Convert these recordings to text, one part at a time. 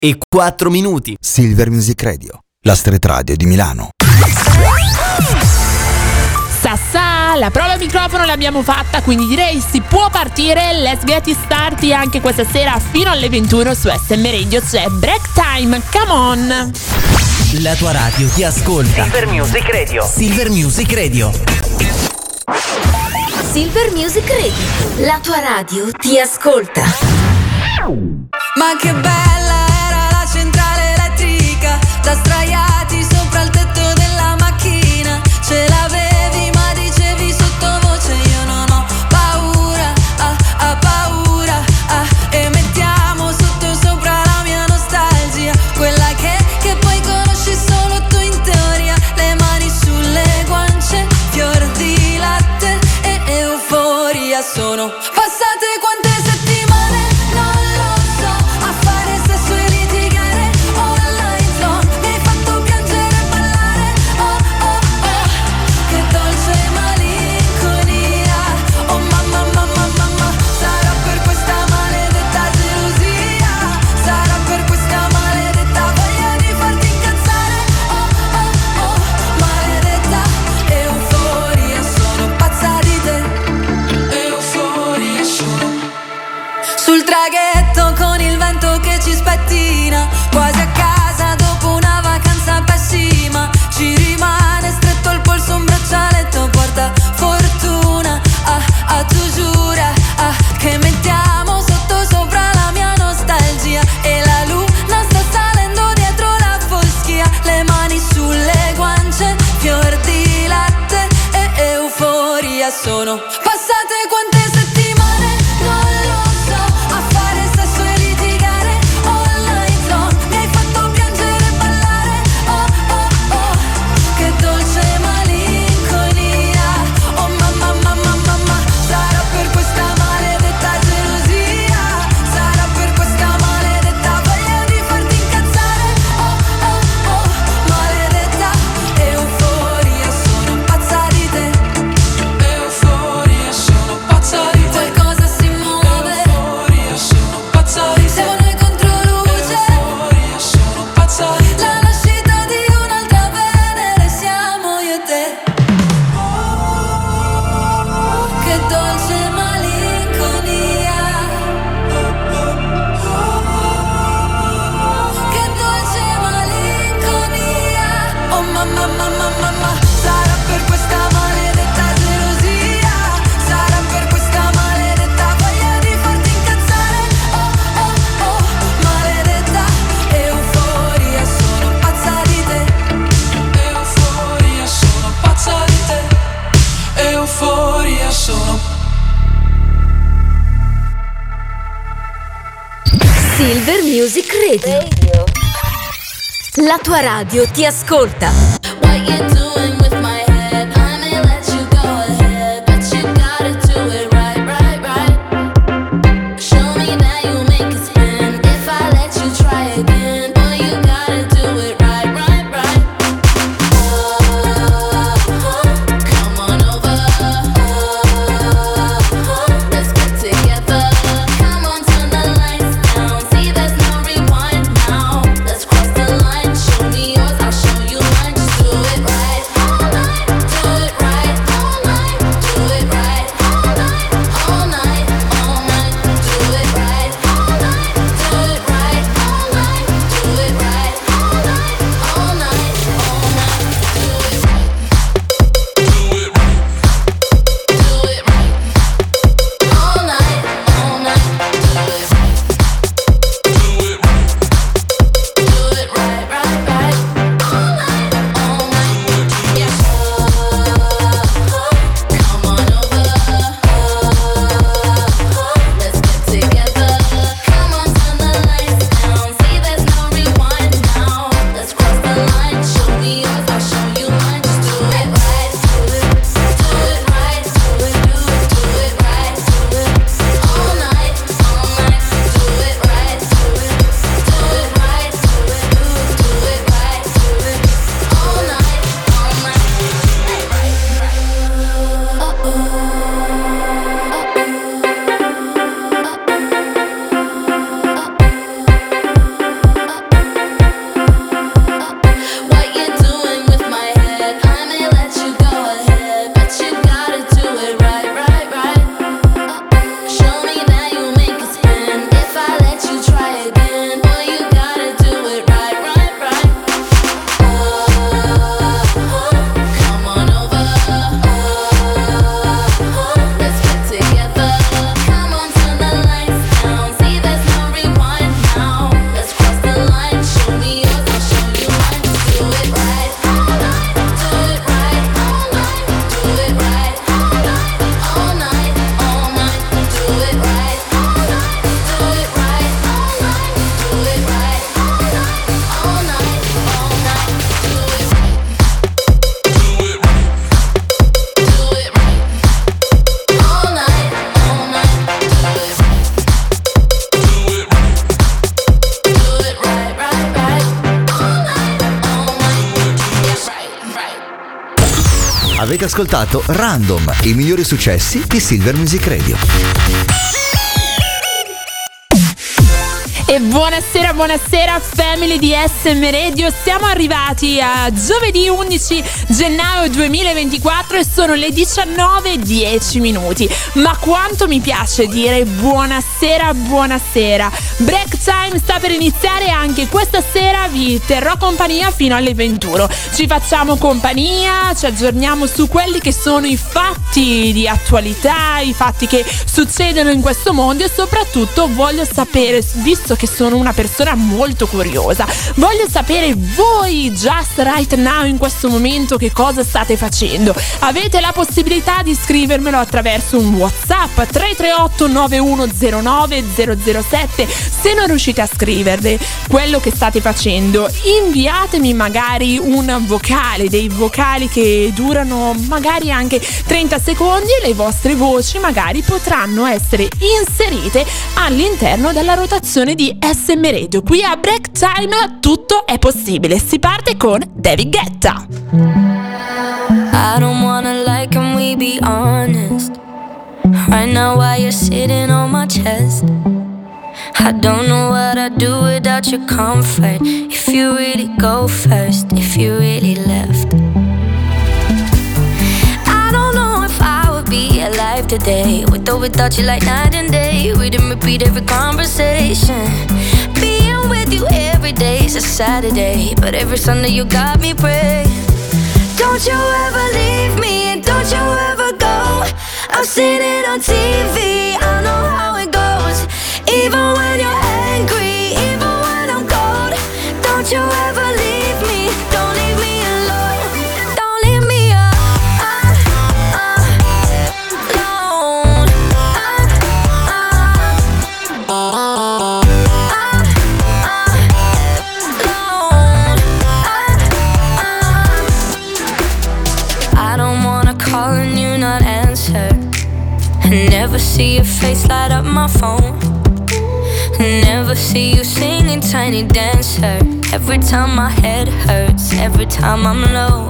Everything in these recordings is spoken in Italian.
e 4 minuti. Silver Music Radio, la street radio di Milano. Sassà, la prova microfono l'abbiamo fatta, quindi direi si può partire. Let's get it started anche questa sera fino alle 21 su SM Radio. C'è Break Time, come on. La tua radio ti ascolta. Silver Music Radio. Silver Music Radio. Silver Music Radio, la tua radio ti ascolta. Ma che bella era la centrale elettrica, da sdraiati sopra il tetto della macchina. Ce l'avevi ma dicevi sottovoce io non ho paura, paura, e mettiamo sotto sopra la mia nostalgia, quella che poi conosci solo tu in teoria. Le mani sulle guance, fior di latte e euforia. Sono passate quante settimane, non lo so, a fare sesso e litigare online zone. Mi hai fatto piangere e ballare, oh oh oh, che dolce malinconia. Oh mamma, mamma, mamma, sarà per questa maledetta gelosia, sarà per questa maledetta voglia di farti incazzare, oh oh oh, maledetta euforia. Sono pazza di te, euforia sono. Sul traghetto con il vento che ci spettina, quasi a casa dopo una vacanza pessima. Ci rimane stretto al polso un braccialetto porta fortuna, tu giura, che mettiamo sotto sopra la mia nostalgia. E la luna sta salendo dietro la foschia. Le mani sulle guance, fior di latte e euforia. Sono passate quante settimane, non lo so, a fare sesso e litigare online zone. Mi hai fatto piangere e ballare, oh oh oh, che dolce malinconia. Oh mamma, mamma, mamma, sarà per questa maledetta gelosia, sarà per questa maledetta voglia di farti incazzare, oh oh oh, maledetta euforia. Sono pazza di te, euforia, sono pazza di te. Qualcosa si muove, euforia, sono pazza di te. Siamo noi contro luce, euforia, sono pazza di te. La nascita di un'altra Venere siamo io e te. Che dolce malinconia, che dolce malinconia. Oh mamma, mamma, mamma, sarà per questa maledetta gelosia, sarà per questa maledetta voglia di farti incazzare, oh oh oh, maledetta euforia. Sono pazza di te, euforia, sono pazza di te, euforia sono. Silver Music Radio, la tua radio ti ascolta. What you doing with my head? I may let you go ahead, but you gotta do it right, right, right. Show me that you make it spin. If I let you try again, boy, you gotta do it right, right, right. Come on over. Let's get together. Come on, turn the lights down. See, there's no rewind now. Let's cross the line. Show me yours, I'll show you mine. Just do it right. che ascoltato Random, i migliori successi di Silver Music Radio. E buonasera, buonasera family di SM Radio. Siamo arrivati a giovedì 11 gennaio 2024 e sono le 19:10. Ma quanto mi piace dire buonasera, buonasera. Break time sta per iniziare, anche questa sera vi terrò compagnia fino alle 21. Ci facciamo compagnia, ci aggiorniamo su quelli che sono i fatti di attualità, i fatti che succedono in questo mondo, e soprattutto voglio sapere, visto che sono una persona molto curiosa, voglio sapere voi just right now, in questo momento, che cosa state facendo. Avete la possibilità di scrivermelo attraverso un WhatsApp 338 9109 007. Se non riuscite a scrivervi quello che state facendo, inviatemi magari un vocale, dei vocali che durano magari anche 30 secondi, e le vostre voci magari potranno essere inserite all'interno della rotazione di SM Radio. Qui a Break Time tutto è possibile. Si parte con David Guetta. I don't wanna lie, can we be honest? Right now while you're sitting on my chest, I don't know what I'd do without your comfort. If you really go first, if you really left, I don't know if I would be alive today, with or without you, like night and day. We didn't repeat every conversation. Being with you every day is a Saturday, but every Sunday you got me praying. Don't you ever leave me, and don't you ever go. I've seen it on TV, I know how it goes. Even when you're angry, even when I'm cold, don't you ever leave me, don't leave me alone. Don't leave me alone. I don't wanna call and you not answer, and never see your face light up my phone. Never see you singing Tiny Dancer. Every time my head hurts, every time I'm low.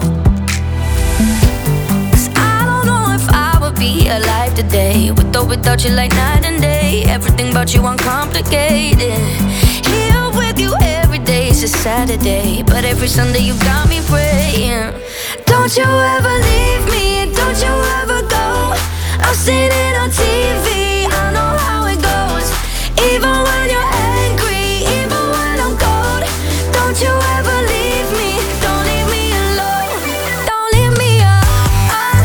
'Cause I don't know if I would be alive today, with or without you, like night and day. Everything about you uncomplicated. Here with you every day is a Saturday, but every Sunday you got me praying. Don't you ever leave me, don't you ever go. I've seen it on TV, I know how it goes. Even when you're angry, even when I'm cold, don't you ever leave me, don't leave me alone. Don't leave me alone.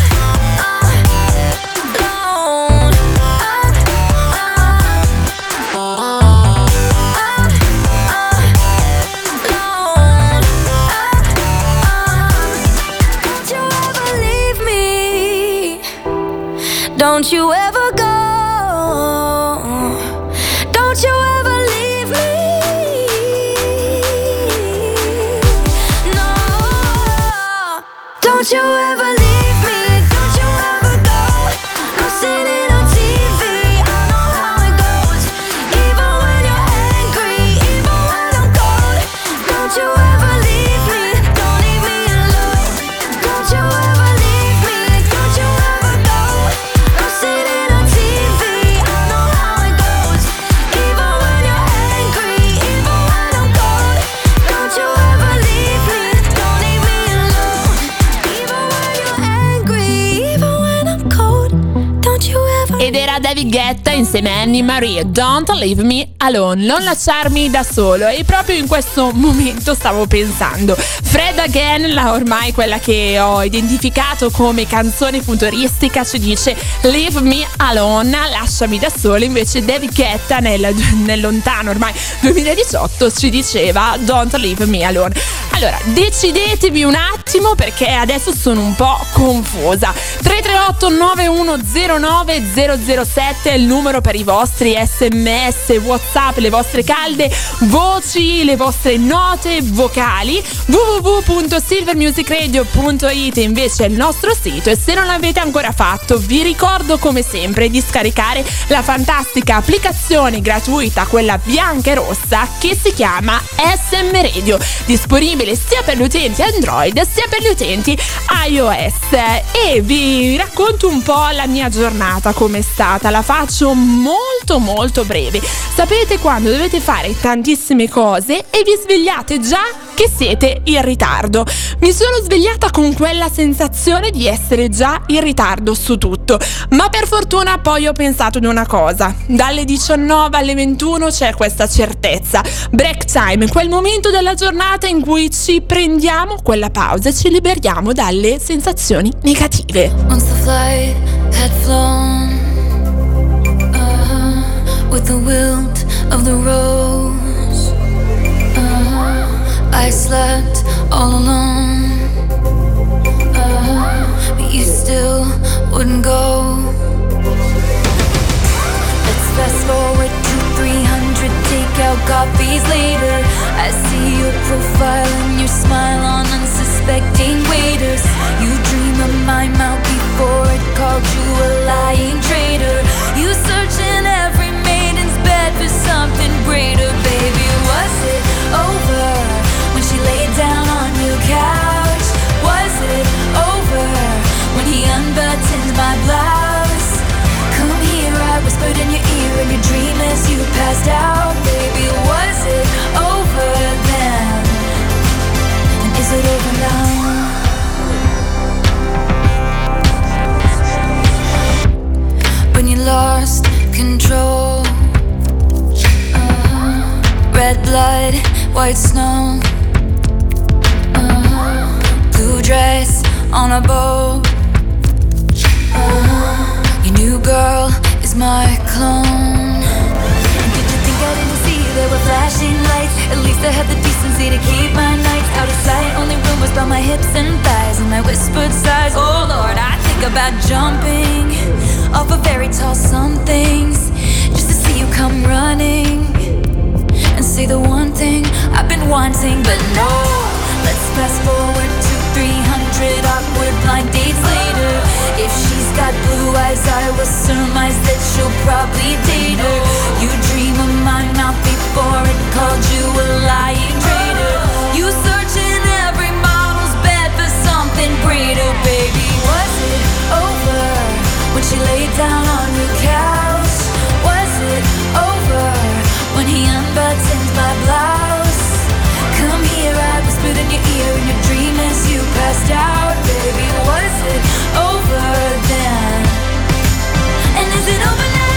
Don't you ever leave me, don't you ever go. Don't you ever leave me, no. Don't you ever leave me, don't you ever go. I'm seeing it on TV, I know how it goes. Even when you're angry, even when I'm cold, don't you ever leave me, don't leave me alone. Don't you ever leave me, don't you ever go. I'm seeing it on TV, I know how it goes. Even when you're angry, even when I'm cold, don't you ever leave me, don't leave me alone. Even when you're angry, even when I'm cold, don't you ever. Ed era David Guetta insieme a Annie Marie, Don't Leave Me Alone, non lasciarmi da solo. E proprio in questo momento stavo pensando, Fred Again, ormai quella che ho identificato come canzone futuristica, ci dice Leave Me Alone, lasciami da solo. Invece David Guetta nel lontano ormai 2018 ci diceva Don't Leave Me Alone. Allora decidetevi un attimo, perché adesso sono un po' confusa. 338 9109 607 è il numero per i vostri sms, whatsapp, le vostre calde voci, le vostre note vocali. www.silvermusicradio.it invece è il nostro sito, e se non l'avete ancora fatto vi ricordo come sempre di scaricare la fantastica applicazione gratuita, quella bianca e rossa, che si chiama SM Radio, disponibile sia per gli utenti Android sia per gli utenti iOS. E vi racconto un po' la mia giornata com'è stata, la faccio molto molto breve. Sapete quando dovete fare tantissime cose e vi svegliate già che siete in ritardo? Mi sono svegliata con quella sensazione di essere già in ritardo su tutto, ma per fortuna poi ho pensato di una cosa: dalle 19 alle 21 c'è questa certezza, break time, quel momento della giornata in cui ci prendiamo quella pausa e ci liberiamo dalle sensazioni negative. Once the flight had flown, with the wilt of the rose, I slept all alone, but you still wouldn't go. Let's fast forward to 300 takeout coffees later. I see your profile and your smile on unsuspecting waiters. You dream of my mouth before it called you a lying traitor. You search in every maiden's bed for something greater. Baby, was it over when she laid down on your couch? Was it over when he unbuttoned my blouse? Come here, I whispered in your ear in your dream as you passed out. Baby, was it over then? And is it over now? When you lost control, red blood, white snow, blue dress on a boat, your new girl is my clone. And did you think I didn't see there were flashing lights? At least I had the decency to keep my nights out of sight. Only rumors about my hips and thighs and my whispered sighs. Oh Lord, I think about jumping off of very tall somethings just to see you come running and say the one thing I've been wanting. But no, let's fast forward to 300 awkward blind dates later. If she's got blue eyes, I will surmise that she'll probably date her. You dream of my mouth before it called you a lying traitor. You search in every model's bed for something greater. Baby, was it over when she laid down on your couch? Was it over when he unbuttoned my blouse? Come here, I whispered in your ear in your dream as you passed out. Baby, was it over then? And is it over now?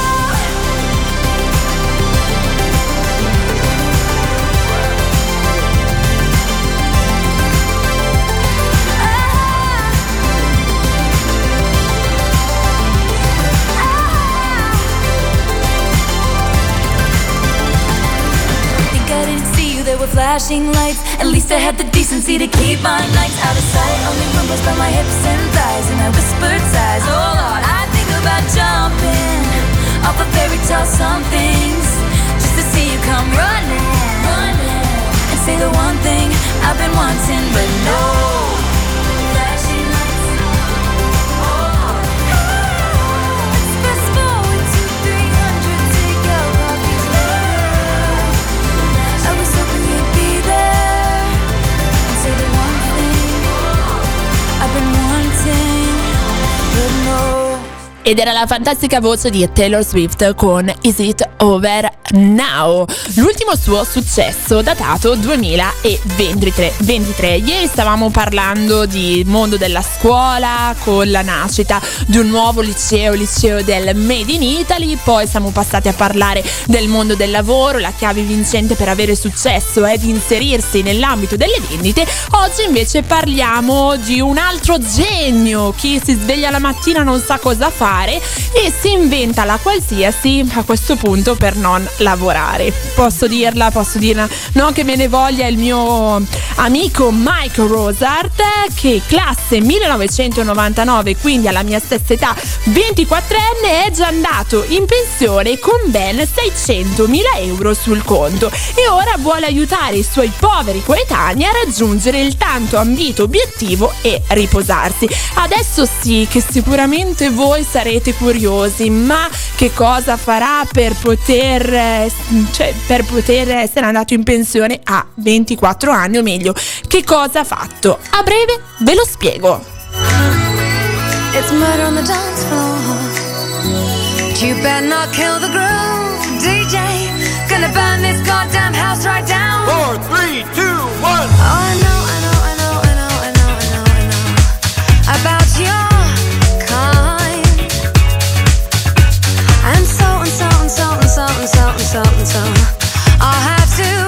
There were flashing lights. At least I had the decency to keep my nights out of sight. Only rumors about my hips and thighs and my whispered sighs. Oh Lord, I think about jumping off of fairy tale somethings just to see you come running and say the one thing I've been wanting. But no flashing lights. Let's fast forward to 300 takeout coffees later. I was hoping you'd be there and say the one thing I've been wanting, but no. Ed era la fantastica voce di Taylor Swift con Is It Over Now, l'ultimo suo successo datato 2023. Ieri stavamo parlando di mondo della scuola con la nascita di un nuovo liceo del Made in Italy, poi siamo passati a parlare del mondo del lavoro. La chiave vincente per avere successo è di inserirsi nell'ambito delle vendite. Oggi invece parliamo di un altro genio, chi si sveglia la mattina non sa cosa fare fare e si inventa la qualsiasi a questo punto per non lavorare. Posso dirla, non che me ne voglia il mio amico Mike Rosart, che classe 1999, quindi alla mia stessa età, 24enne, è già andato in pensione con ben 600.000 euro sul conto e ora vuole aiutare i suoi poveri coetanei a raggiungere il tanto ambito obiettivo e riposarsi. Adesso sì che sicuramente voi sarete curiosi, ma che cosa farà per poter essere andato in pensione a 24 anni, o meglio, che cosa ha fatto? A breve ve lo spiego. It's murder on the dance floor. You better not kill the groove, DJ. Gonna burn this goddamn house right down. 4, 3, 2, 1. Oh, I know about your kind. And so I'll have to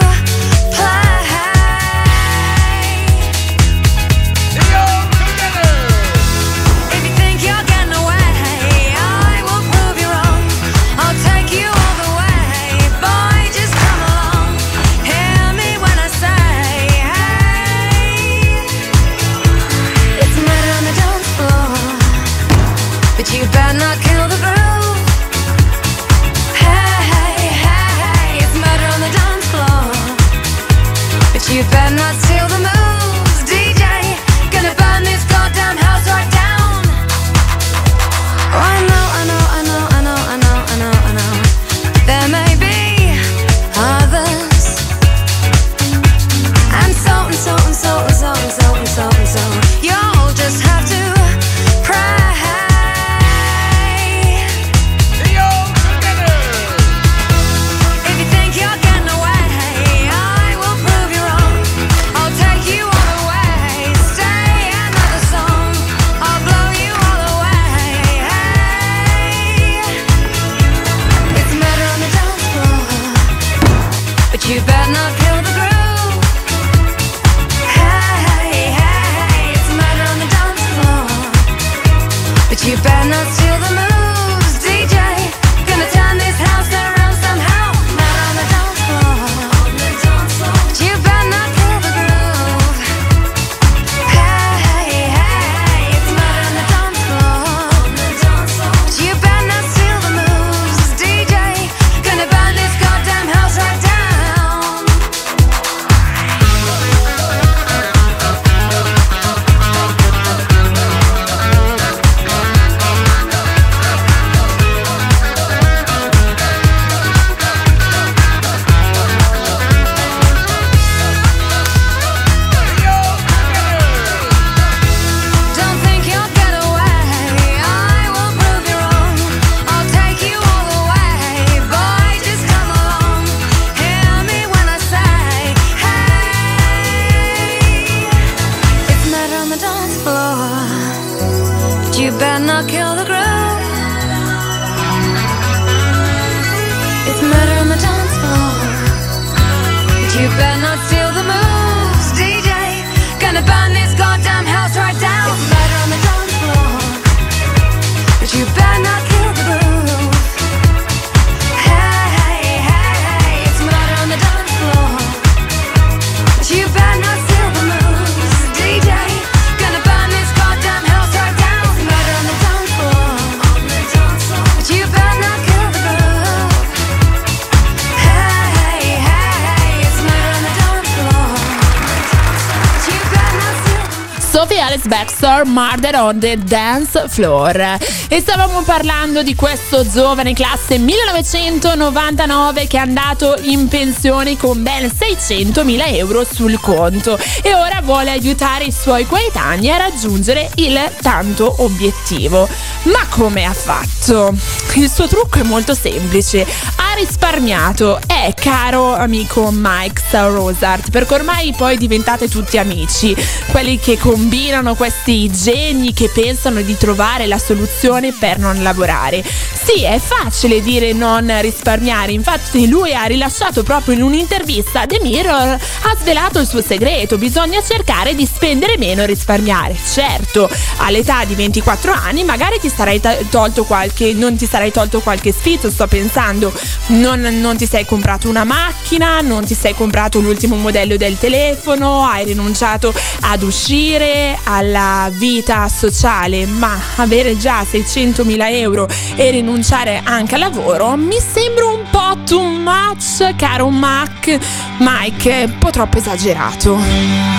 you better not kill the groove. Hey, it's murder on the dance floor. But you better not steal the moves, DJ. Gonna burn this goddamn house right down. Oh, I know. There may be others. And so you'll just have to pray. You better not kill the groove. Hey, it's murder on the dance floor. But you better not steal the moves, DJ. Gonna turn this house around somehow. Murder on the dance floor. But you better not kill the groove. Hey, it's murder on the dance floor. But you better not steal the moves, DJ. Gonna burn this goddamn house right down. You better not kill the groove. It's murder on the dance floor. But you better not steal the moves, DJ. Gonna burn this goddamn house right down. It's murder on the dance floor. But you better not kill the groove. Hey, it's murder on the dance floor. But you better not steal the moves, DJ. Gonna burn this goddamn house right down. You better not kill the groove. Hey, it's murder on the dance floor. You better not steal. Sophie Alice Baxter, Murder on the Dance Floor. E stavamo parlando di questo giovane classe 1999 che è andato in pensione con ben 600.000 euro sul conto e ora vuole aiutare i suoi coetanei a raggiungere il tanto obiettivo. Ma come ha fatto? Il suo trucco è molto semplice. Ha risparmiato? Caro amico Mike Rosart, perché ormai poi diventate tutti amici, quelli che combinano questi geni che pensano di trovare la soluzione per non lavorare. Sì, è facile dire non risparmiare, infatti lui ha rilasciato proprio in un'intervista, The Mirror ha svelato il suo segreto: bisogna cercare di spendere meno e risparmiare. Certo, all'età di 24 anni magari ti sarai tolto non ti sarai tolto qualche sfizio, sto pensando, non ti sei comprato una macchina, non ti sei comprato l'ultimo modello del telefono, hai rinunciato ad uscire, alla vita sociale, ma avere già 600.000 euro e rinunciare anche al lavoro mi sembra un po' too much, caro Mike, un po' troppo esagerato.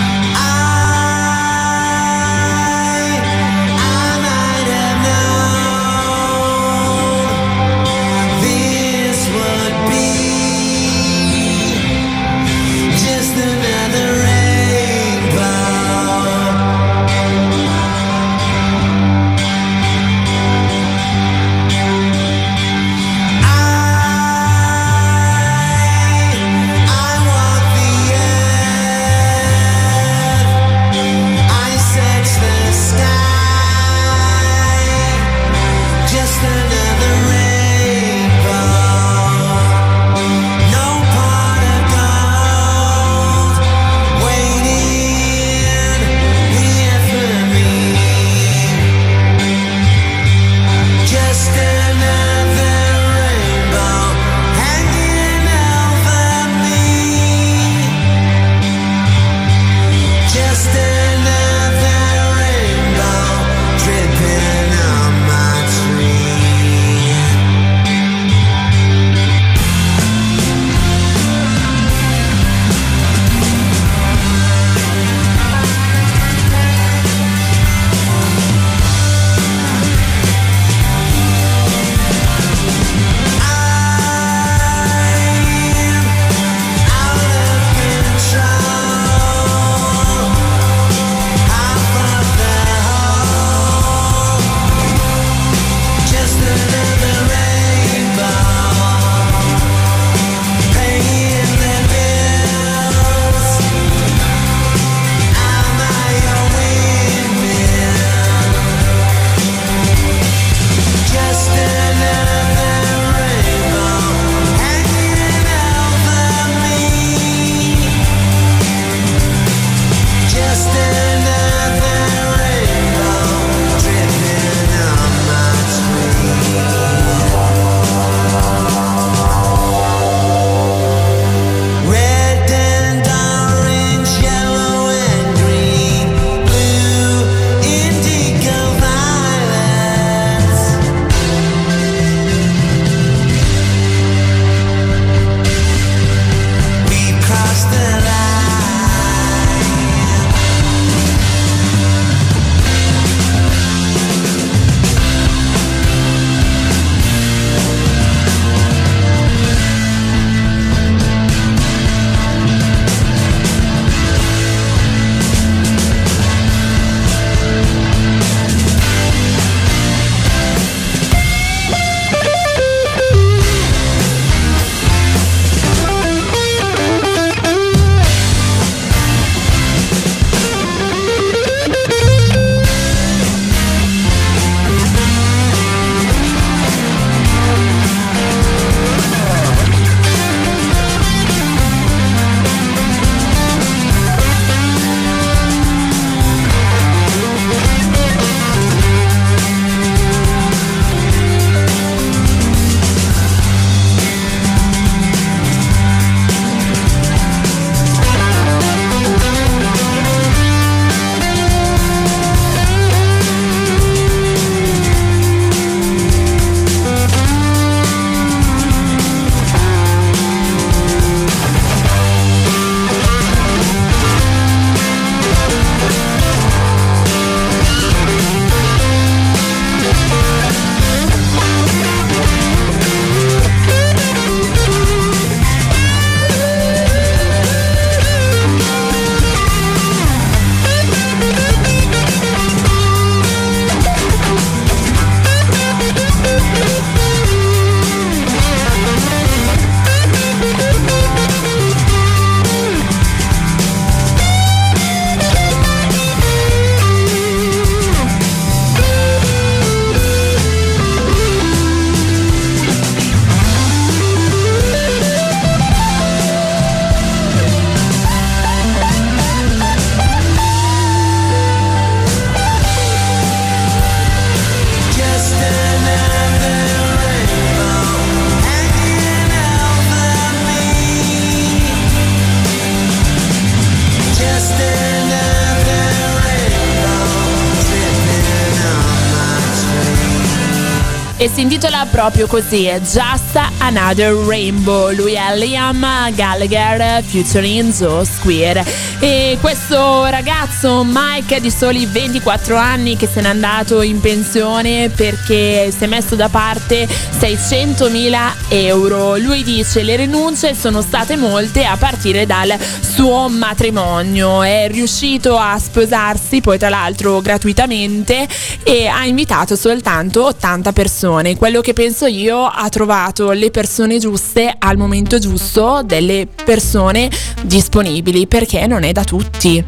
e si intitola proprio così, Just Another Rainbow. Lui è Liam Gallagher featuring Joe Square. E questo ragazzo Mike è di soli 24 anni che se n'è andato in pensione perché si è messo da parte 600.000 euro. Lui dice: le rinunce sono state molte a partire dal suo matrimonio. È riuscito a sposarsi poi tra l'altro gratuitamente e ha invitato soltanto 80 persone. Quello che penso io, ha trovato le persone giuste al momento giusto, delle persone disponibili, perché non è da tutti.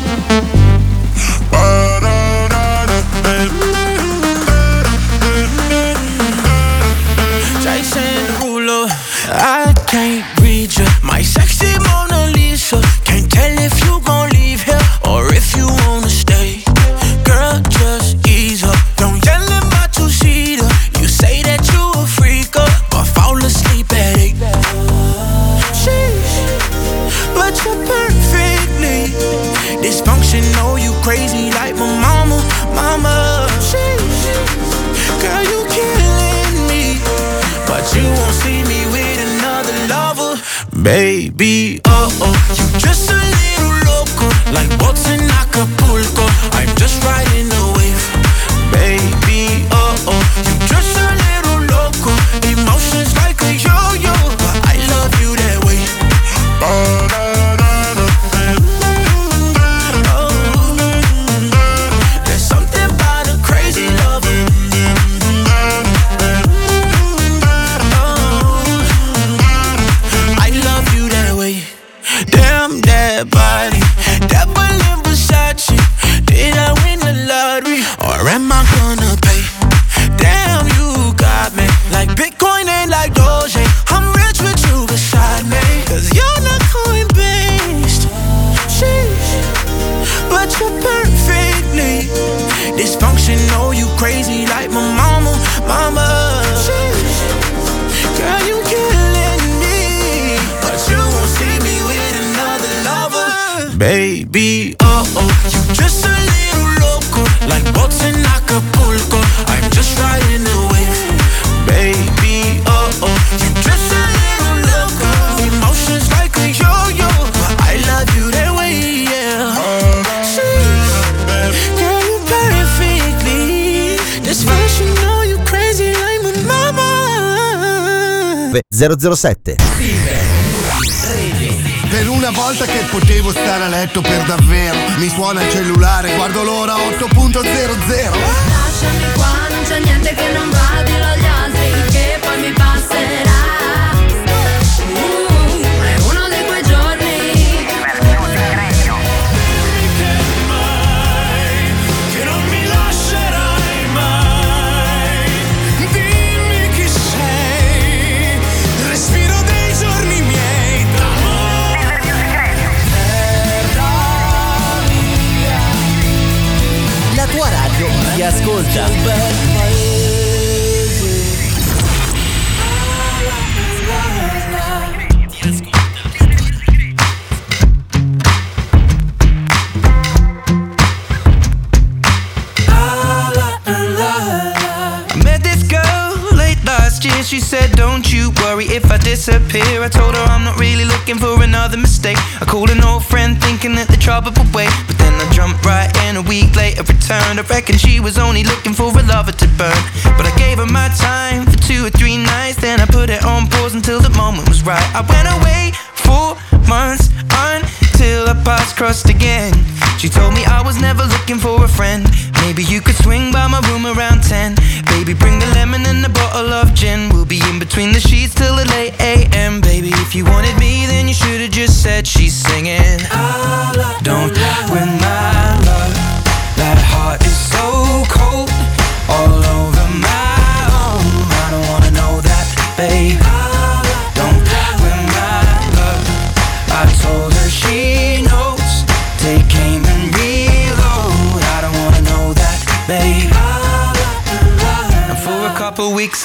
I can't read you, my sexy Mona Lisa. Can't tell if you gon' leave here or if you wanna stay. Girl, just ease up, don't yell at my two-seater. You say that you a freak up, but fall asleep at 8. Sheesh, but you're perfectly dysfunctional. You crazy like my mama, mama. Sheesh, girl, you killing me, but you won't see me with another lover. Baby, you just a little loco, like boats in Acapulco. I'm just riding the wave. Baby, you just a little loco, emotions like a yo-yo, but I love you that way. There's something about a crazy lover. Damn that body, that balloon Versace. Did I win the lottery, or am I gonna pay? Damn, you got me like Bitcoin and like Doge. I'm rich with you beside me, cause you're not coin-based. Sheesh, but you're perfectly dysfunctional. You crazy like my mama, mama. Sheesh, girl, you killing me, but you won't see me with another lover. Baby, you just a little loco, like boats in Acapulco. I'm just riding the wave. Baby, you just a little loco, emotions like a yo-yo, but I love you that way, yeah. Girl, you perfectly dysfunctional. You crazy like my mama. 007. Per una volta che potevo stare a letto per davvero, mi suona il cellulare, guardo l'ora 8.00. Lasciami qua, non c'è niente che non va, dillo agli altri che poi mi passerà. È uno di quei giorni. Che non mi lascerai mai. Dimmi chi sei, respiro dei giorni miei d'amore. La tua radio ti ascolta. She said, don't you worry if I disappear. I told her I'm not really looking for another mistake. I called an old friend thinking that the trouble would wait, but then I jumped right in. A week later returned. I reckon she was only looking for a lover to burn, but I gave her my time for 2 or 3 nights. Then I put it on pause until the moment was right. I went away 4 months until our paths crossed again. She told me I was never looking for a friend. Maybe you could swing by my room around 10. Baby, bring the lemon and a bottle of gin. We'll be in between the sheets till the late AM. Baby, if you wanted me, then you should've just said she's singing. Don't with my love. That heart is so cold, all over my own. I don't wanna know that, babe. Don't with my love. I told her she knows. Take aim and reload. I don't wanna know that, babe. And for a couple weeks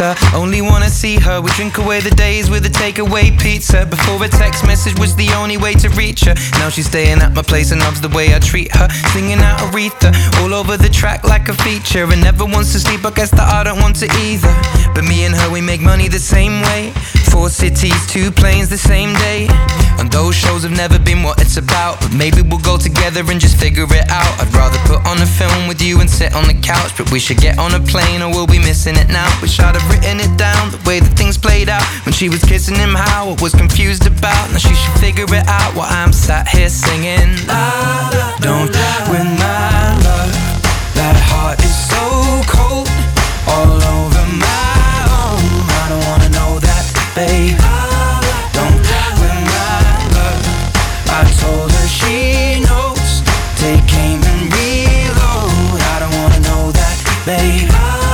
pizza. Only wanna see her, we drink away the days with a takeaway pizza. Before a text message was the only way to reach her. Now she's staying at my place and loves the way I treat her. Singing out Aretha, all over the track like a feature. And never wants to sleep, I guess that I don't want to either. But me and her, we make money the same way. 4 cities, 2 planes the same day. And those shows have never been what it's about. But maybe we'll go together and just figure it out. I'd rather put on a film with you and sit on the couch. But we should get on a plane or we'll be missing it now. Wish I'd have written it down, the way that things played out. When she was kissing him, how I was confused about. Now she should figure it out while I'm sat here singing. Don't win my love. That heart is so cold, all over my own. I don't wanna know that, babe. Don't win my love. I told her she knows. Take aim and reload. I don't wanna know that, babe.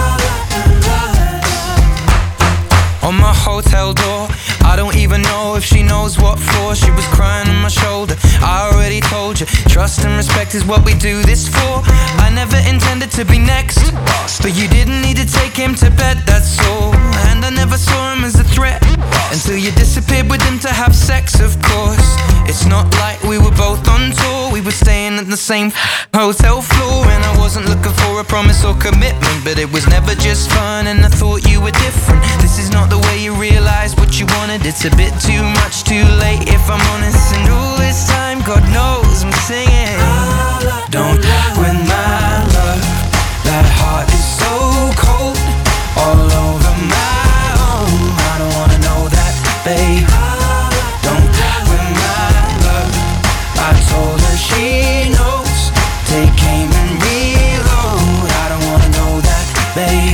On my hotel door, I don't even know if she knows what for. She was crying on my shoulder, I already told you. Trust and respect is what we do this for. I never intended to be next, but you didn't need to take him to bed, that's all. And I never saw him as a threat until you disappeared with him to have sex, of course. It's not like we were both on tour. We were staying at the same hotel floor. And I wasn't looking for a promise or commitment, but it was never just fun and I thought you were different. This is not the way you realize what you wanted. It's a bit too much, too late if I'm honest. And all this time, God knows I'm singing. Don't win my love. That heart is so cold, all over my own. I don't wanna know that, babe. Don't win my love. I told her she knows. Take aim and reload. I don't wanna know that, babe.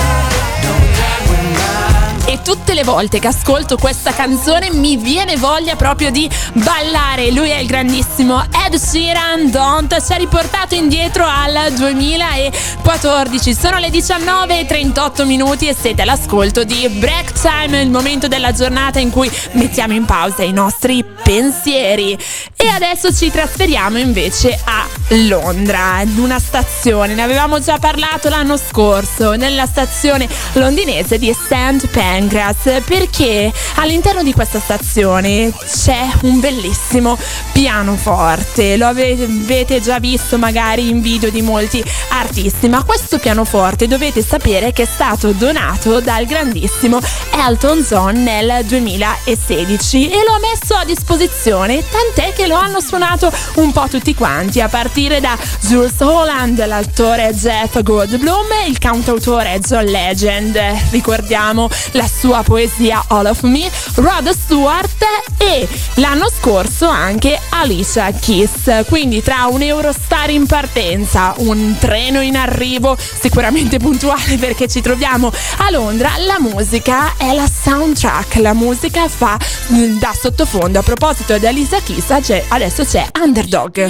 E tutte le volte che ascolto questa canzone mi viene voglia proprio di ballare. Lui è il grandissimo Ed Sheeran. Don't ci ha riportato indietro al 2014. Sono le 19:38 e siete all'ascolto di Break Time, il momento della giornata in cui mettiamo in pausa i nostri pensieri. E adesso ci trasferiamo invece a Londra, in una stazione. Ne avevamo già parlato l'anno scorso, nella stazione londinese di St. Pancras, perché all'interno di questa stazione c'è un bellissimo pianoforte. Lo avete già visto magari in video di molti artisti, ma questo pianoforte dovete sapere che è stato donato dal grandissimo Elton John nel 2016 e lo ha messo a disposizione, tant'è che lo hanno suonato un po' tutti quanti, a partire da Jools Holland, l'attore Jeff Goldblum, il cantautore John Legend, ricordiamo la sua poesia All of Me, Rod Stewart e l'anno scorso anche Alicia Keys. Quindi tra un Eurostar in partenza, un treno in arrivo sicuramente puntuale perché ci troviamo a Londra, la musica è la soundtrack, la musica fa da sottofondo. A proposito di Alicia Keys, adesso c'è Underdog.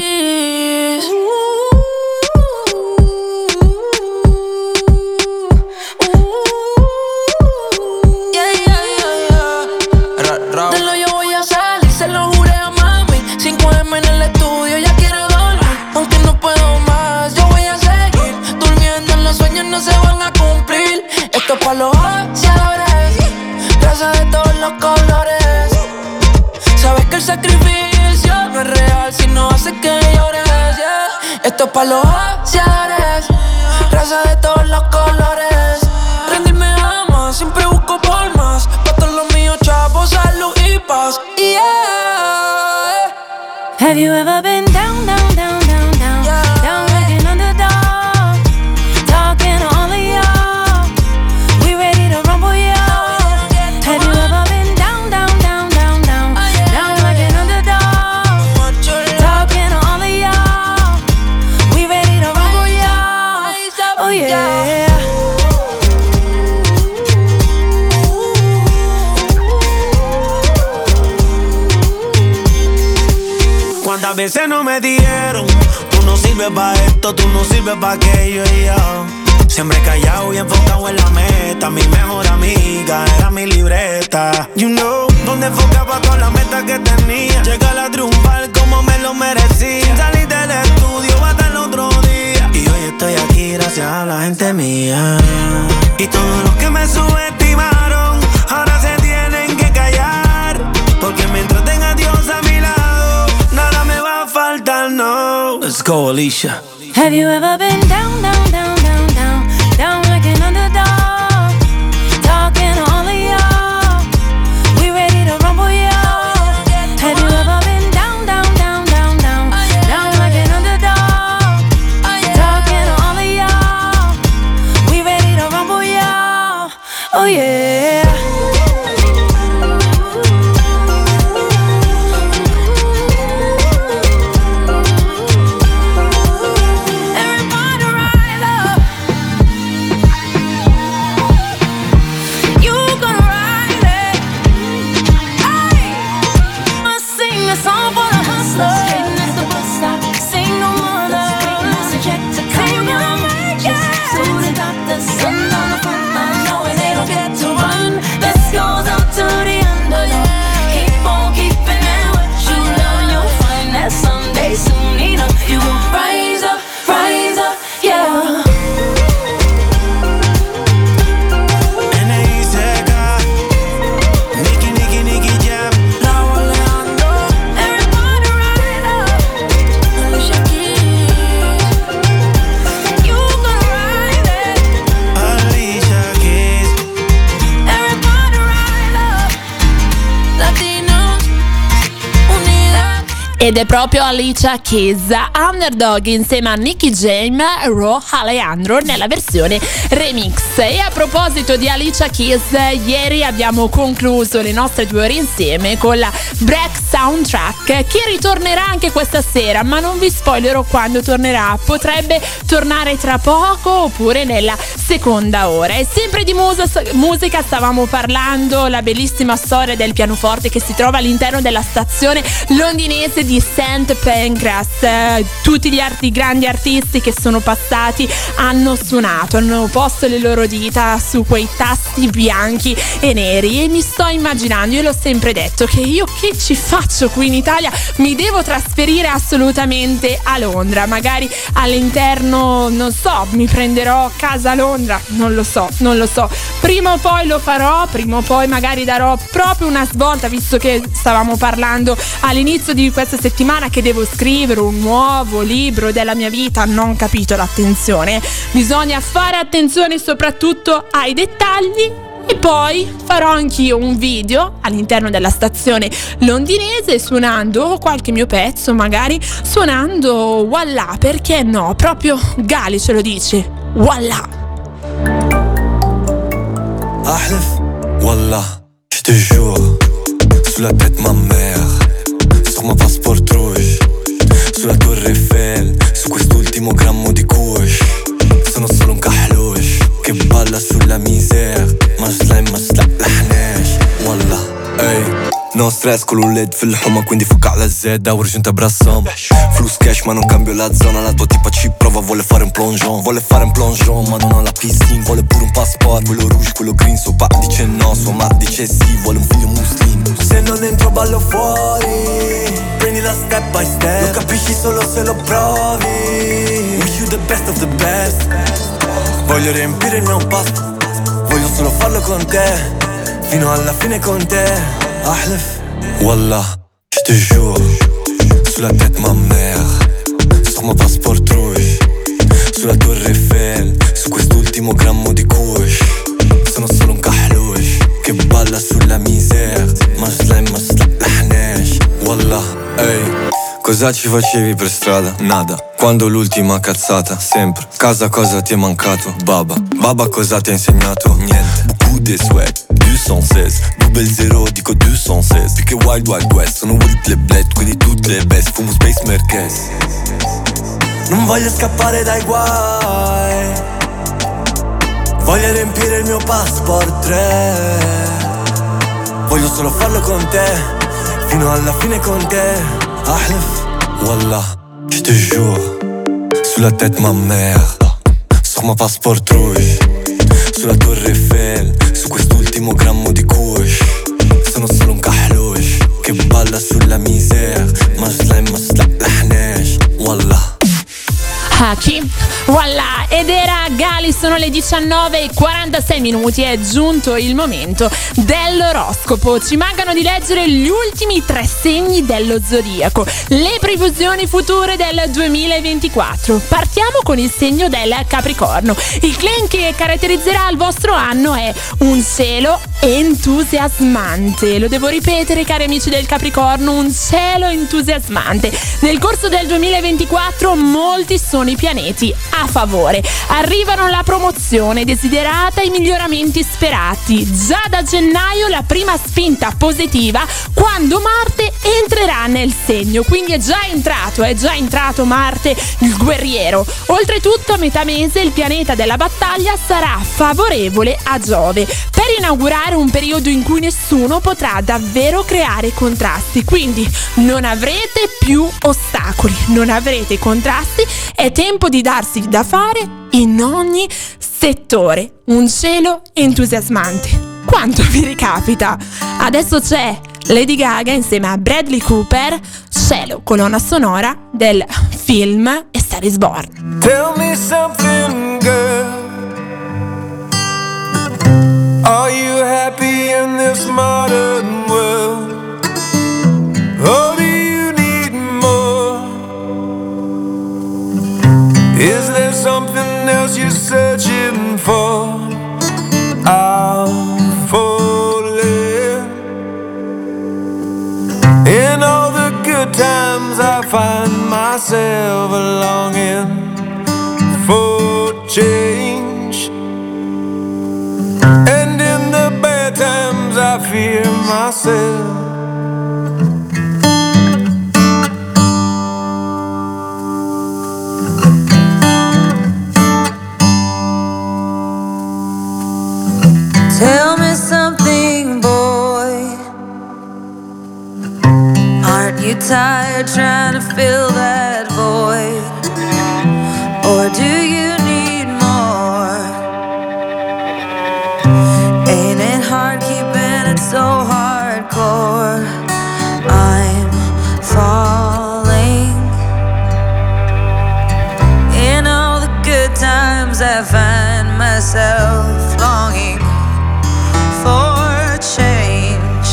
Esto pa' los ancianos, raza de todos los colores. Sabes que el sacrificio no es real si no hace que llores, yeah. Esto pa' los ancianos, raza de todos los colores. Rendirme ama, siempre busco por más. Pa' todos los míos, chavos, salud y paz, yeah. Have you ever been down, down, down, down, down, yeah. Down like an underdog, talking to all of y'all, we ready to rumble, y'all. Have you ever been down, down, down, down, down, down like an underdog, talking to all of y'all, we ready to rumble, y'all. Oh yeah. Cuántas veces no me dijeron, tú no sirves pa' esto, tú no sirves pa' aquello, y yo siempre callado y enfocado en la meta. Mi mejor amiga era mi libreta. You know, donde enfocaba todas las metas que tenía, llegar a triunfar como me lo merecía. Salir del estudio hasta el otro día, y hoy estoy aquí gracias a la gente mía. Y todos los que me subestiman Let's go, Alicia. Have you ever been down, down, down, down, down, down like an underdog? Talking to all of y'all, we ready to rumble y'all. Have you ever been down, down, down, down, down, down like an underdog? Talking to all of y'all, we ready to rumble y'all. Oh yeah. Ed è proprio Alicia Keys, Underdog insieme a Nicky Jam e Ro Alejandro nella versione remix. E a proposito di Alicia Keys, ieri abbiamo concluso le nostre 2 ore insieme con la Break Soundtrack, che ritornerà anche questa sera, ma non vi spoilerò quando tornerà. Potrebbe tornare tra poco oppure nella seconda ora. E sempre di musica stavamo parlando, la bellissima storia del pianoforte che si trova all'interno della stazione londinese di St. Pancras. Tutti gli grandi artisti che sono passati hanno suonato, hanno posto le loro dita su quei tasti bianchi e neri, e mi sto immaginando, io l'ho sempre detto, che io che ci faccio qui in Italia? Mi devo trasferire assolutamente a Londra, magari all'interno, non so, mi prenderò casa a Londra, non lo so, prima o poi lo farò, prima o poi magari darò proprio una svolta, visto che stavamo parlando all'inizio di questa settimana che devo scrivere un nuovo libro della mia vita. Non capito l'attenzione, bisogna fare attenzione soprattutto ai dettagli. E poi farò anch'io un video all'interno della stazione londinese suonando qualche mio pezzo, magari suonando Wallah, perché no, proprio Gali ce lo dice, Wallah. Ahlef, Wallah, je te jure, sous la tête ma mère, sur ma passport rouge, sulla Torre Eiffel, su quest'ultimo grammo di kush. Sono solo un kahloush che balla sulla misère, ma slime ma slaqlaħnax. Wallah, ey, no stress con l'ULED fil-ħuma, quindi fuck alla zedda u rġinta brassam. Flus cash ma non cambio la zona, la tua tipa ci prova, vuole fare un plongeon ma non ho la piscina, vuole pure un passport, quello rouge, quello green, suo pa dice no, sua ma dice sì, vuole un figlio muslim. Se non entro ballo fuori, prendila step by step, lo capisci solo se lo provi. Wish you the best of the best, voglio riempire il mio pasto, voglio solo farlo con te, fino alla fine con te. Ahlef, Wallah, je te jure, sous la tête ma mère, sur ma passport rouge, sulla Torre Eiffel, su quest'ultimo grammo di kush. Sono solo un kahloush che balla sulla misère, ma slime ma slaqlaħnax. Wallah, ey, cosa ci facevi per strada? Nada. Quando l'ultima cazzata? Sempre. Casa cosa ti è mancato? Baba cosa ti ha insegnato? Niente. Beaucoup de sweat, 216, double zero dico 216. Più che Wild Wild West, sono Wild le bled, quindi tutte le best. Fumo Space Merkez. Non voglio scappare dai guai, voglio riempire il mio passport 3. Voglio solo farlo con te, fino alla fine con te. Ahlef, Wallah, je te jure, sous la tête ma mère, sur ma passport rouge, sulla Torre Eiffel, su quest'ultimo grammo di kush. Sono solo un kahloush che balla sulla misère, ma slime ma slaqlaħnax. Wallah. Chi? Voilà, ed era Gali, sono le 19:46, è giunto il momento dell'oroscopo. Ci mancano di leggere gli ultimi 3 segni dello zodiaco, le previsioni future del 2024. Partiamo con il segno del Capricorno. Il claim che caratterizzerà il vostro anno è un cielo entusiasmante. Lo devo ripetere, cari amici del Capricorno, un cielo entusiasmante. Nel corso del 2024 molti sono i pianeti a favore. Arrivano la promozione desiderata e i miglioramenti sperati. Già da gennaio la prima spinta positiva quando Marte entrerà nel segno. Quindi è già entrato Marte, il guerriero. Oltretutto a metà mese il pianeta della battaglia sarà favorevole a Giove per inaugurare un periodo in cui nessuno potrà davvero creare contrasti. Quindi non avrete più ostacoli, non avrete contrasti, è tempo di darsi da fare in ogni settore. Un cielo entusiasmante. Quanto vi ricapita? Adesso c'è Lady Gaga insieme a Bradley Cooper, Cielo, colonna sonora del film A Star Is Born. Tell me something, girl. Are you happy in this modern world? Or do you need more? Is there something else you're searching for? I'm falling. In all the good times I find myself longing for change, and in the bad times I fear myself. Tell me something, boy. Aren't you tired trying to fill that void? Or do you need more? Ain't it hard keeping it so hardcore? I'm falling. In all the good times I find myself longing for change,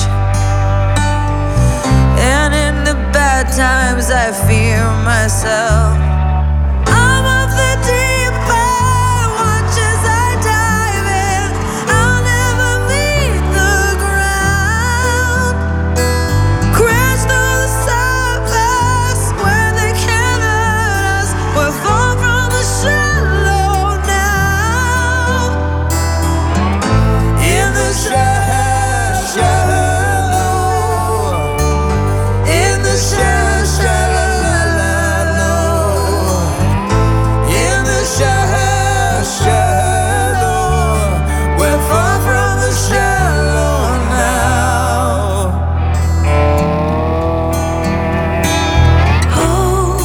and in the bad times I fear myself. I'm of the deep end, watch as I dive in. I'll never meet the ground. Crash through the surface where they can't hurt us. We're far from the shallow now. In the shallow, in the shallow, in the shallow, we're far from the shallow now. Oh,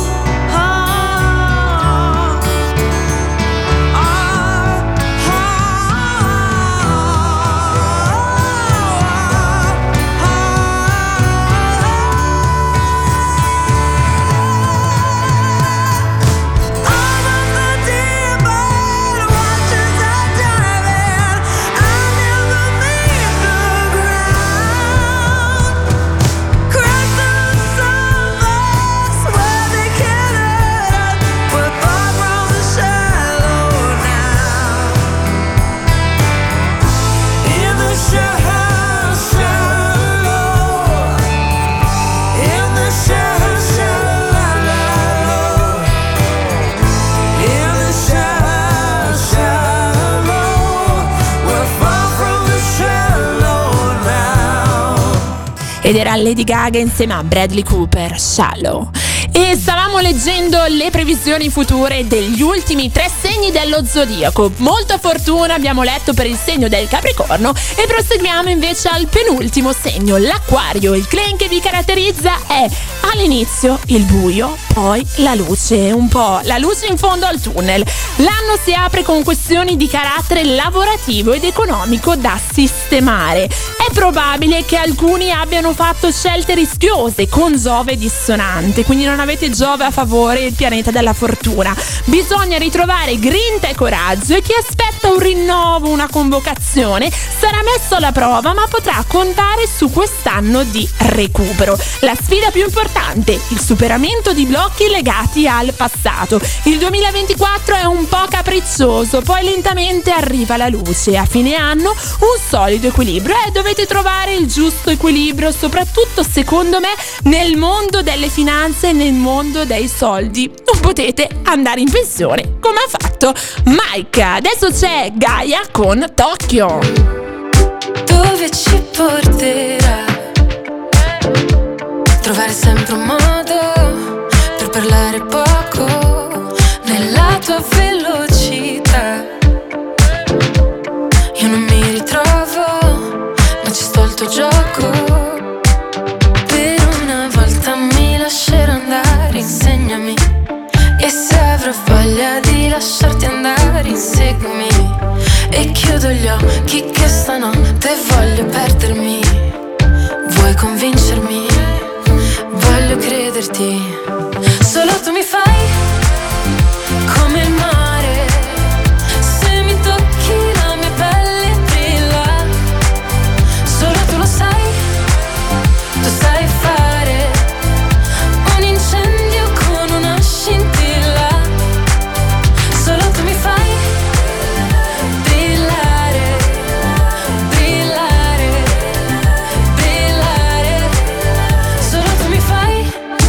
ed era Lady Gaga insieme a Bradley Cooper, Shallow. E stavamo leggendo le previsioni future degli ultimi 3 segni dello zodiaco. Molta fortuna abbiamo letto per il segno del Capricorno e proseguiamo invece al penultimo segno, l'Acquario. Il claim che vi caratterizza è all'inizio il buio, poi la luce, un po' la luce in fondo al tunnel. L'anno si apre con questioni di carattere lavorativo ed economico da sistemare. È probabile che alcuni abbiano fatto scelte rischiose con Giove dissonante, quindi non avete Giove a favore il pianeta della fortuna. Bisogna ritrovare grinta e coraggio, e chi aspetta un rinnovo, una convocazione, sarà messo alla prova, ma potrà contare su quest'anno di recupero. La sfida più importante, il superamento di blocchi legati al passato. Il 2024 è un po' capriccioso, poi lentamente arriva la luce. A fine anno un solido equilibrio, e dovete trovare il giusto equilibrio, soprattutto secondo me nel mondo delle finanze e nel mondo dei soldi. Non potete andare in pensione come ha fatto Mike. Adesso c'è Gaia con Tokyo. Dove ci porterà? Trovare sempre un modo per parlare poco nella tua velocità. Io non mi ritrovo, ma ci sto al tuo gioco. Per una volta mi lascerò andare, insegnami. E se avrò voglia di lasciarti andare, inseguimi. E chiudo gli occhi che stanotte voglio perdermi. Vuoi convincermi? Voglio crederti. Solo tu mi fai come il mare. Se mi tocchi la mia pelle brilla. Solo tu lo sai. Tu sai fare un incendio con una scintilla. Solo tu mi fai brillare, brillare, brillare. Solo tu mi fai.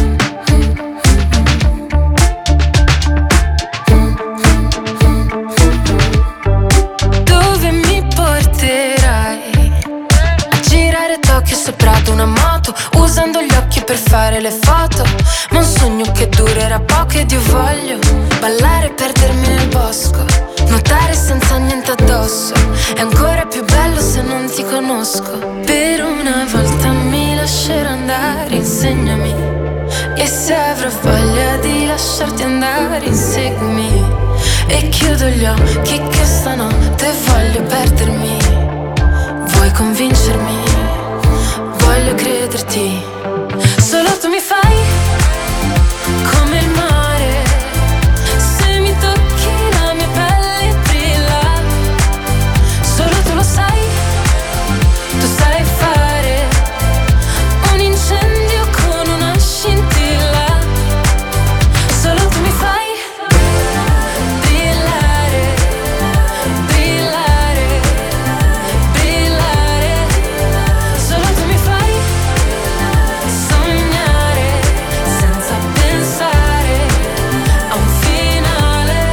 Dove mi porterai? A girare Tokyo sopra ad una moto, usando gli occhi per fare le foto. Ma un sogno che durerà poco, ed io voglio ballare e perdermi nel bosco, nuotare senza niente addosso. È ancora più bello se non ti conosco. Per una volta mi lascerò andare, insegnami. E se avrò voglia di lasciarti andare, inseguimi. E chiudo gli occhi che stanotte voglio perdermi. Vuoi convincermi? Voglio crederti. Solo tu mi fai come il mare. Se mi tocchi la mia pelle brilla. Solo tu lo sai. Tu sai fare un incendio con una scintilla. Solo tu mi fai brillare, brillare, brillare. Solo tu mi fai sognare senza pensare a un finale.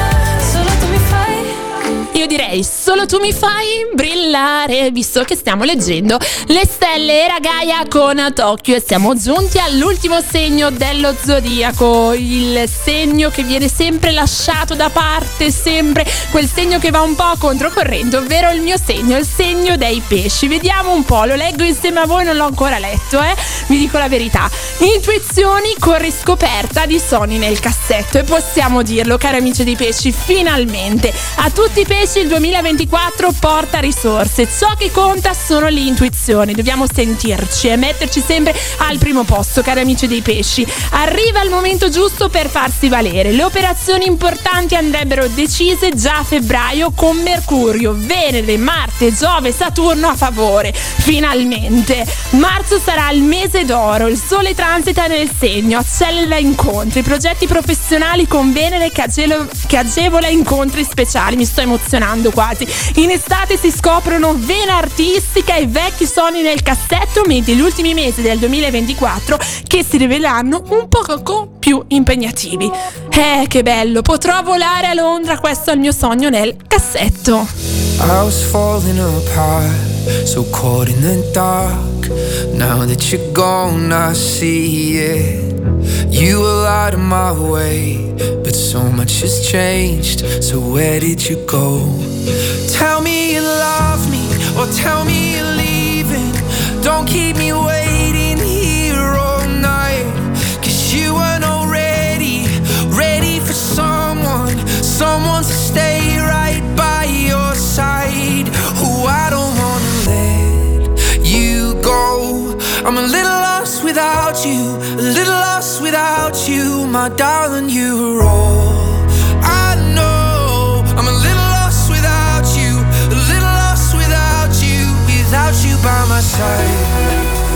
Solo tu mi fai. Io direi solo tu mi fai brillare, visto che stiamo leggendo le stelle. Era Gaia con Tokyo, e siamo giunti all'ultimo segno dello zodiaco, il segno che viene sempre lasciato da parte, sempre quel segno che va un po' controcorrente, ovvero il mio segno, il segno dei pesci. Vediamo un po', lo leggo insieme a voi, non l'ho ancora letto, vi dico la verità. Intuizioni con riscoperta di sogni nel cassetto, e possiamo dirlo, cari amici dei pesci, finalmente a tutti i pesci il 2024 porta risorse. Ciò che conta sono le intuizioni, dobbiamo sentirci e metterci sempre al primo posto, cari amici dei pesci. Arriva il momento giusto per farsi valere. Le operazioni importanti andrebbero decise già a febbraio, con Mercurio, Venere, Marte, Giove, Saturno a favore. Finalmente marzo sarà il mese d'oro, il sole transita nel segno, accelera incontri, progetti professionali con Venere che agevola incontri speciali. Mi sto emozionando quasi. In estate si scoprono vena artistica e vecchi sogni nel cassetto, mentre gli ultimi mesi del 2024 che si riveleranno un poco più impegnativi. Che bello, potrò volare a Londra, questo è il mio sogno nel cassetto. I was falling apart, so caught in the dark. Now that you're gone, I see it. You were out of my way, but so much has changed. So where did you go? Tell me you love me, or tell me you're leaving. Don't keep me waiting here all night, 'cause you weren't already ready for someone to stay right by your side. Oh, I don't wanna let you go. I'm a little lost without you, a little lost without you, my my darling, you are all I know. I'm a little lost without you, a little lost without you by my side.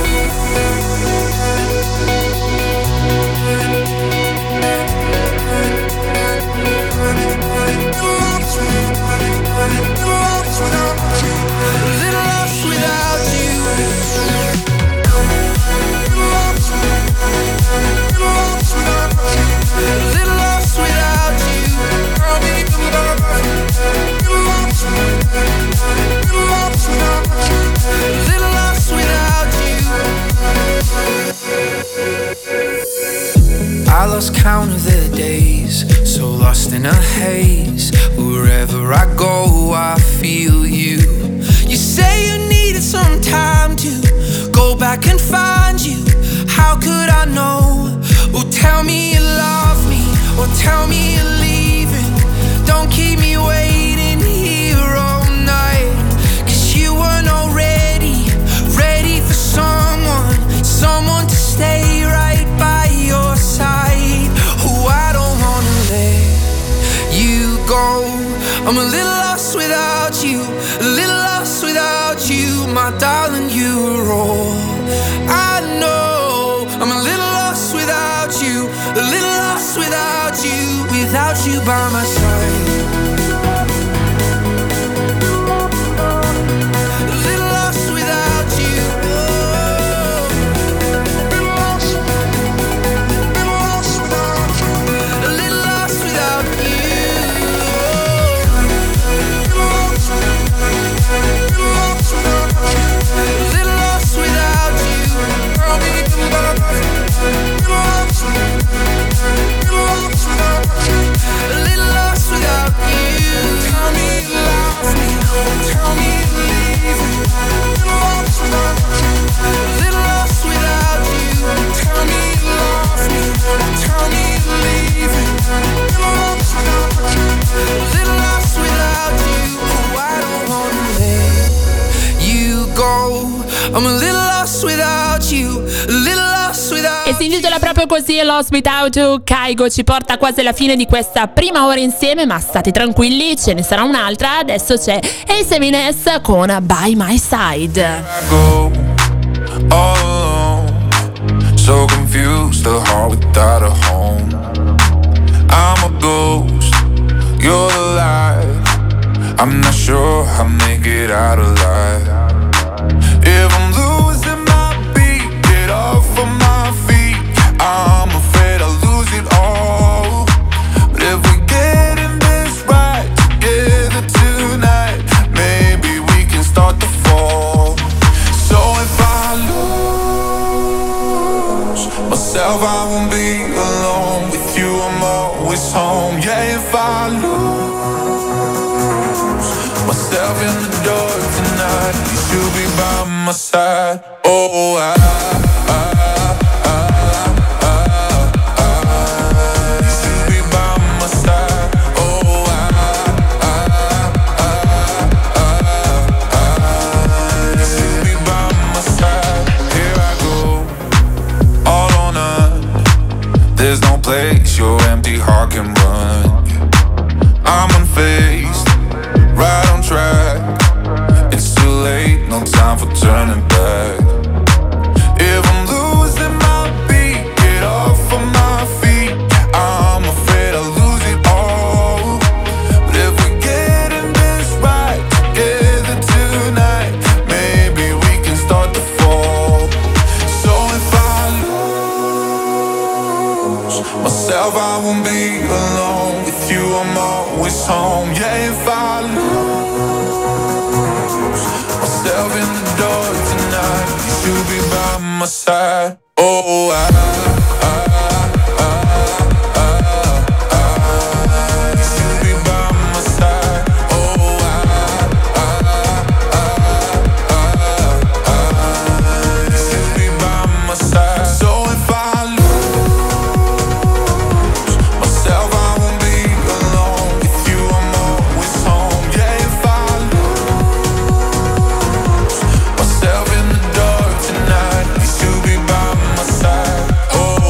I lost count of the days, so lost in a haze. Wherever I go, I feel you. You say you needed some time to go back and find you. How could I know? Oh, tell me you love me, or tell me you're leaving. Don't keep me waiting here all night, 'cause you weren't already ready for someone to stay right by your side. Oh, I don't wanna let you go. I'm a little lost without you, a little lost without you, my darling, you're all I know. I'm a little lost without you, a little lost without you by my side. I'm a little lost without you, a little lost without you. E si intitola proprio così, Lost Without You. Kaigo ci porta quasi alla fine di questa prima ora insieme, ma state tranquilli, ce ne sarà un'altra. Adesso c'è A7S con By My Side. I go all alone, so confused, a heart without a home. I'm a ghost, you're the light. I'm not sure I'll make it out alive. If I'm losing my beat, get off of my feet. I'm afraid I'll lose it all. But if we get in this right together tonight, maybe we can start to fall. So if I lose myself, I won't be alone. With you I'm always home. Yeah, if I lose myself in the dark tonight, you should be by my side. Oh, you should be by my side. Oh, you should be by my side. Here I go, all or none. There's no place your empty heart can run. I'm unfazed, right on track. It's too late, no time for turning back. If I'm losing my beat, get off of my feet. I'm afraid I'll lose it all. But if we get in this right together tonight, maybe we can start to fall. So if I lose myself, I won't be alone. With you I'm always home. Yeah, if I lose myself in the dark tonight, you should be by my side. Oh, you should be by my side. Oh, you should be by my side. So if I lose myself, I won't be alone. With you I'm always home. Yeah, if I lose myself in the dark tonight, you should be by my side. Oh,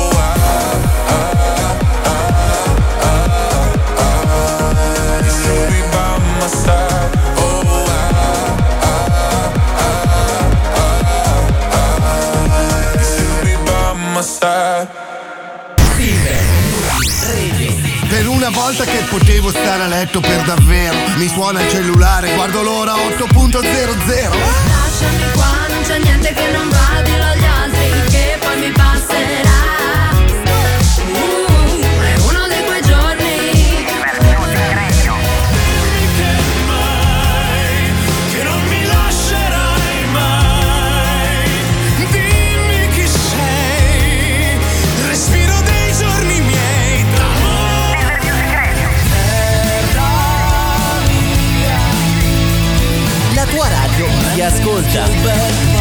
Per una volta che potevo stare a letto per davvero, mi suona il cellulare, guardo l'ora 8.00. Lasciami qua, non c'è niente che non va, dillo agli altri che poi mi passerà. È uno di quei giorni. Che non mi lascerai mai. Dimmi chi sei. Respiro dei giorni miei d'amore. Terra mia. La tua radio ti ascolta.